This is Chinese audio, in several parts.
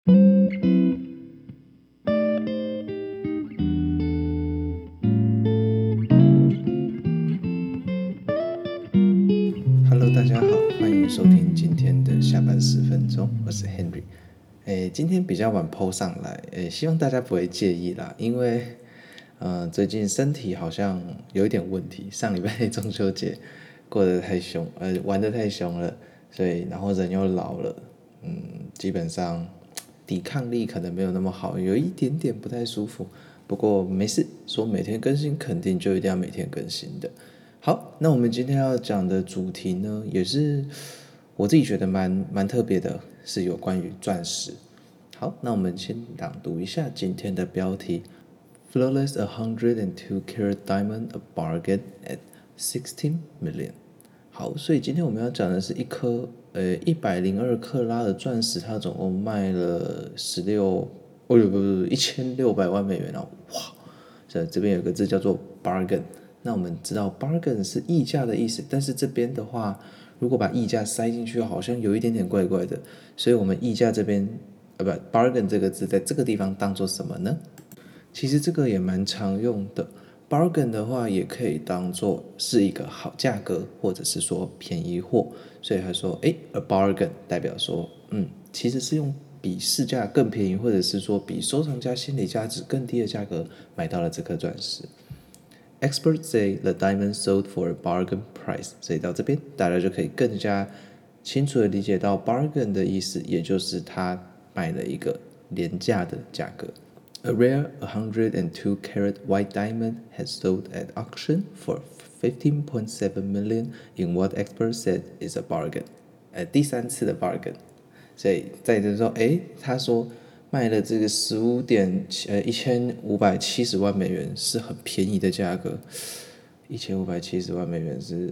Hello， 大家好，歡迎收聽今天的下班10分鐘，我是 Henry。今天比較晚 po 上來，希望大家不會介意啦，因為最近身體好像有一點問題，上禮拜中秋節過得太兇，玩得太兇了，所以然後人又老了，基本上抵抗力可能沒有那麼好，有一點點不太舒服。不過沒事，說每天更新肯定就一定要每天更新的。好，那我們今天要講的主題呢，也是我自己覺得蠻特別的，是有關於鑽石。好，那我們先朗讀一下今天的標題 ：Flawless 102 carat diamond a bargain at 16 million。好，所以今天我們要講的是一顆102克拉的鑽石，它總共賣了1600萬美元哦，哇！這邊有個字叫做 bargain。那我們知道 bargain 是議價的意思，但是這邊的話，如果把議價塞進去，好像有一點點怪怪的，所以我們議價這邊bargain 這個字在這個地方當做什麼呢？其實這個也蠻常用的 ，bargain 的話也可以當做是一個好價格，或者是說便宜貨，所以他說a bargain 代表說，其實是用比市價更便宜，或者是說比收藏家心理價值更低的價格買到了這顆鑽石。Experts say the diamond sold for a bargain price， 所以到這邊大家就可以更加清楚地理解到 bargain 的意思，也就是他買了一個廉價的價格。A rare 102 carat white diamond has sold at auction for 15.7 million in what experts said is a bargain。第三次的 bargain， 所以在這說，他說賣了這個1570萬美元是很便宜的價格，1570萬美元是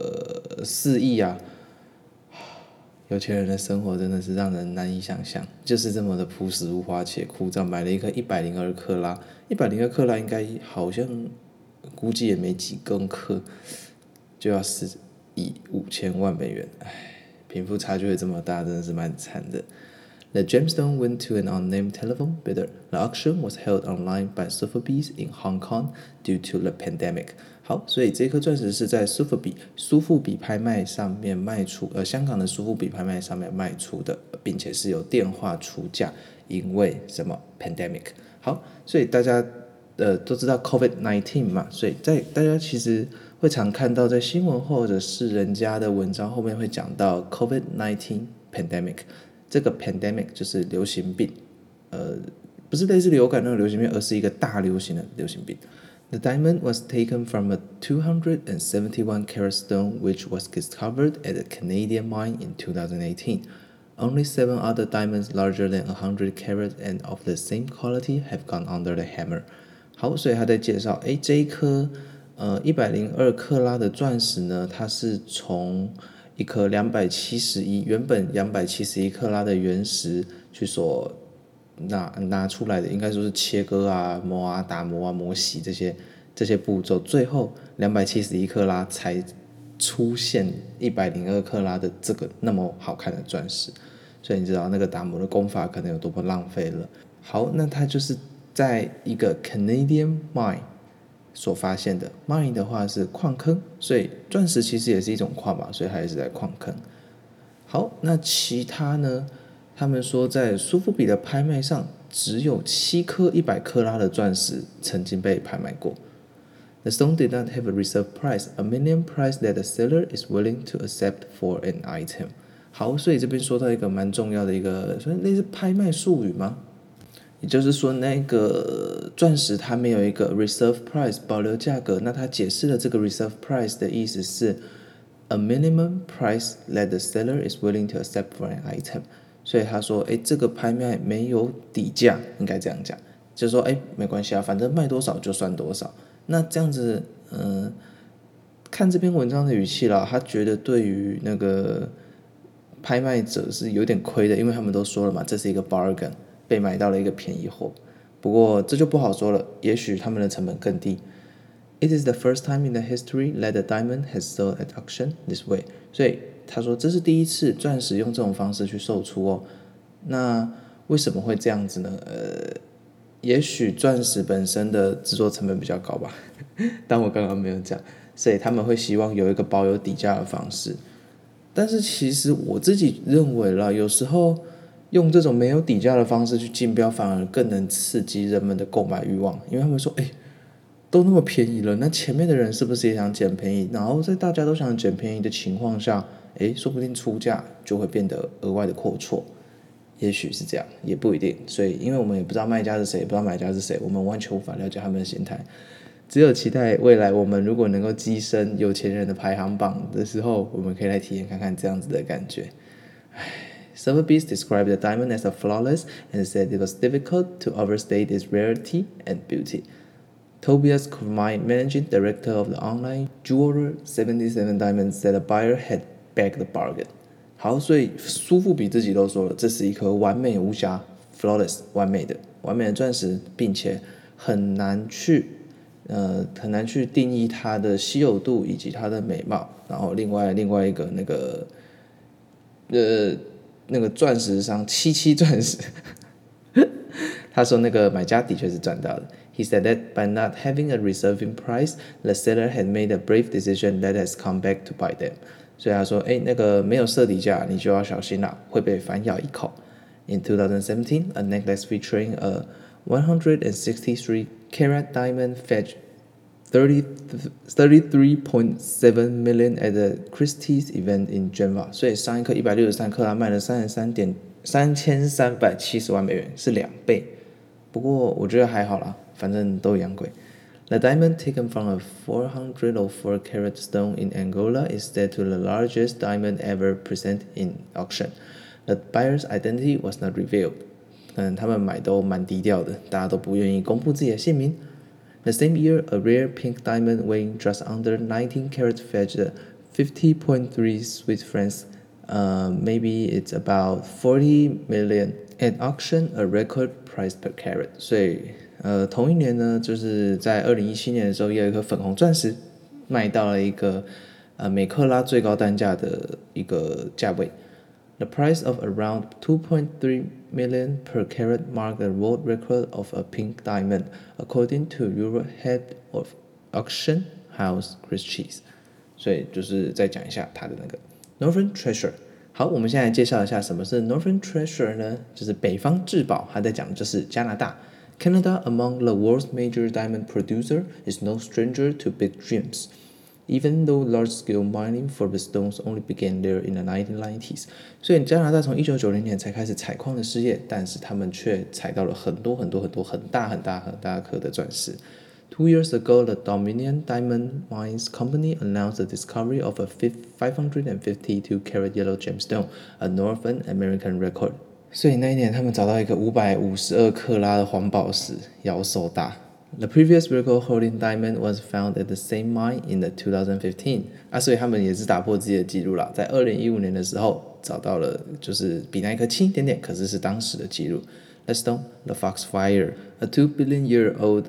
4億啊！有錢人的生活真的是讓人難以想象，就是這麼的樸實無華且枯燥。買了一顆102克拉，102克拉應該好像估計也沒幾公克，就要4億5000萬美元，貧富差距會這麼大，真的是蠻慘的。The gemstone went to an unnamed telephone bidder. The auction was held online by Sotheby's in Hong Kong due to the pandemic. 好，所以這顆鑽石是在蘇富比拍賣上面賣出，香港的蘇富比拍賣上面賣出的，並且是由電話出價，因為什麼 pandemic。好，所以大家都知道 COVID-19 嘛，所以大家其實會常看到在新聞或者是人家的文章後面會講到 COVID-19 pandemic。這個 pandemic 就是流行病，不是類似流感那種流行病，而是一個大流行的流行病。The diamond was taken from a 271 carat stone which was discovered at a Canadian mine in 2018. Only 7 other diamonds larger than 100 carat and of the same quality have gone under the hammer. 好，所以他在介紹，這一顆102克拉的鑽石呢，它是從一顆原本271克拉的原石去所拿出來的，應該說是切割啊、磨啊、打磨啊、磨洗這些步驟，最後271克拉才出現102克拉的這個那麼好看的鑽石，所以你知道那個打磨的工法可能有多麼浪費了。好，那它就是在一個 Canadian mine所發現的 mine 的話是礦坑，所以鑽石其實也是一種礦嘛，所以它也是在礦坑。好，那其他呢？他們說在蘇富比的拍賣上，只有7顆100克拉的鑽石曾經被拍賣過。The stone did not have a reserve price, a minimum price that the seller is willing to accept for an item。好，所以這邊說到一個蠻重要的一個，所以類似拍賣術語嗎？也就是說，那個鑽石它沒有一個 reserve price 保留價格，那它解釋了這個 reserve price 的意思是 a minimum price that the seller is willing to accept for an item。所以他說，這個拍賣沒有底價，應該這樣講，就是說，沒關係啊，反正賣多少就算多少。那這樣子，看這篇文章的語氣啦，他覺得對於那個拍賣者是有點虧的，因為他們都說了嘛，這是一個 bargain。被買到了一個便宜貨，不過這就不好說了，也許他們的成本更低。It is the first time in the history that a diamond has sold at auction this way。所以他說這是第一次鑽石用這種方式去售出哦。那為什麼會這樣子呢？也許鑽石本身的制作成本比較高吧，但我剛剛沒有講，所以他們會希望有一個保有底價的方式。但是其實我自己認為啦，有時候用這種沒有底價的方式去競標，反而更能刺激人們的購買慾望，因為他們說，都那麼便宜了，那前面的人是不是也想撿便宜？然後在大家都想撿便宜的情況下，說不定出價就會變得額外的闊綽，也許是這樣，也不一定。所以，因為我們也不知道賣家是誰，也不知道買家是誰，我們完全無法了解他們的心態。只有期待未來我們如果能夠躋身有錢人的排行榜的時候，我們可以來體驗看看這樣子的感覺。Sotheby's described the diamond as a flawless and said it was difficult to overstate its rarity and beauty. Tobias Kurmai, managing director of the online jeweler 77 Diamonds, said the buyer had bagged the bargain. 好，所以蘇富比自己都說了，這是一顆完美無瑕 flawless 完美的鑽石，並且很難去定義它的稀有度以及它的美貌。然後另外一個那個鑽石商77鑽石，他說那個買家的確是賺到的。He said that by not having a reserving price, the seller had made a brave decision that has come back to bite them. 所以他說，那個沒有設底價，你就要小心啦，會被反咬一口。In 2017, a necklace featuring a 163-carat diamond fetched $33.7 million at the Christie's event in Geneva. 所以上一顆163克拉賣了3370萬美元，是2倍。不過我覺得還好啦，反正都一樣貴。The diamond taken from a 404-carat stone in Angola is said to be the largest diamond ever presented in auction. The buyer's identity was not revealed. 可能他們買都蠻低調的，大家都不願意公布自己的姓名。The same year, a rare pink diamond weighing just under 19 carats fetched 50.3 Swiss francs. Maybe it's about 40 million at auction, a record price per carat. 所以同一年呢，就是在2017年的時候，也有一顆粉紅鑽石賣到了一個每克拉最高單價的一個價位。The price of around 2.3 million per carat marked the world record of a pink diamond, according to Euro head of auction house Christie's. 所以就是再講一下它的那個 Northern Treasure。好，我們現在來介紹一下什麼是 Northern Treasure 呢？就是北方至寶，它在講的就是加拿大。Canada, among the world's major diamond producer, is no stranger to big dreams. Even though large-scale mining for the stones only began there in the 1990s. 所以加拿大從1990年才開始採礦的事業，但是他們卻採到了很多很大顆的鑽石。2 years ago, the Dominion Diamond Mines Company announced the discovery of a 552-carat yellow gemstone, a North American record. 所以那一年他們找到一個552克拉的黃寶石，妖獸大。The previous record-holding diamond was found at the same mine in 2015. 所以他們也是打破自己的記錄啦，在2015年的時候找到了，就是比那一顆輕一點點，可是是當時的記錄。Let's stone the Foxfire, a 2 billion-year-old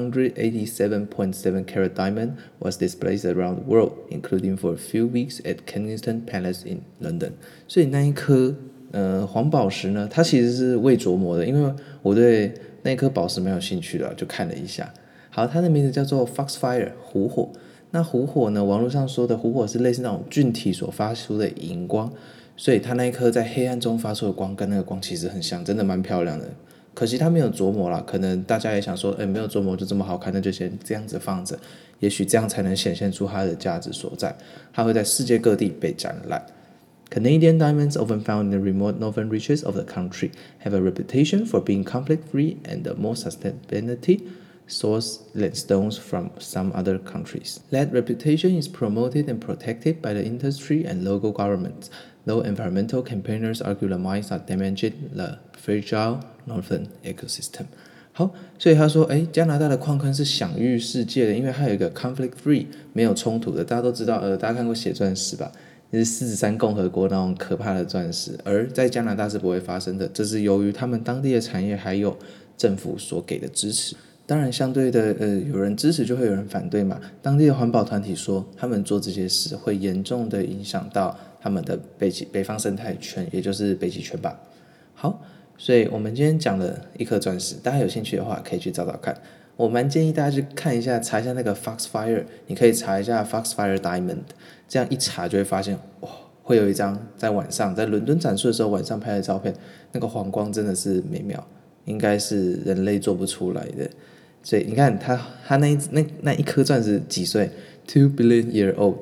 187.7-carat diamond, was displayed around the world, including for a few weeks at Kensington Palace in London. 所以那一顆黃寶石呢，它其實是未琢磨的，因為我對那顆寶石蠻有興趣的，就看了一下。好，它的名字叫做 Foxfire 虎火。那虎火呢，網絡上說的虎火是類似那種菌體所發出的熒光，所以它那一顆在黑暗中發出的光跟那個光其實很像，真的蠻漂亮的。可惜它沒有琢磨啦，可能大家也想說，沒有琢磨就這麼好看，那就先這樣子放着，也許這樣才能顯現出它的價值所在。它會在世界各地被展覽。Canadian diamonds, often found in the remote northern reaches of the country, have a reputation for being conflict-free and the most sustainability source than stones from some other countries. That reputation is promoted and protected by the industry and local governments, though environmental campaigners argue the mines are damaging the fragile northern ecosystem. 好，所以他說，加拿大的礦坑是享譽世界的，因為它有一個 conflict-free 沒有衝突的。大家都知道，大家看過血鑽石吧？是獅子山共和國那種可怕的鑽石，而在加拿大是不會發生的。這是由於他們當地的產業還有政府所給的支持。當然，相對的，有人支持就會有人反對嘛。當地的環保團體說，他們做這些事會嚴重的影響到他們的北方生態圈，也就是北極圈吧。好， 所以我們今天講了一顆鑽石，大家有興趣的話可以去找找看。我蠻建議大家去看一下，查一下那個 Foxfire， 你可以查一下 Foxfire Diamond， 這樣一查就會發現，哇，會有一張在晚上在倫敦展出的時候晚上拍的照片，那個黃光真的是美妙，應該是人類做不出來的。所以你看他那一顆鑽石幾歲 ？2 billion year old，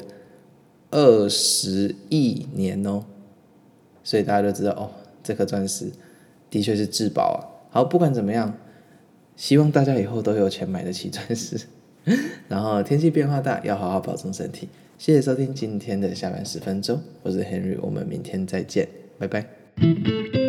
20億年哦。所以大家都知道哦，這顆鑽石的確是至寶啊。好，不管怎麼樣。希望大家以後都有錢買得起鑽石，然後天氣變化大，要好好保重身體。謝謝收聽今天的下班10分鐘，我是 Henry，我們明天再見，拜拜。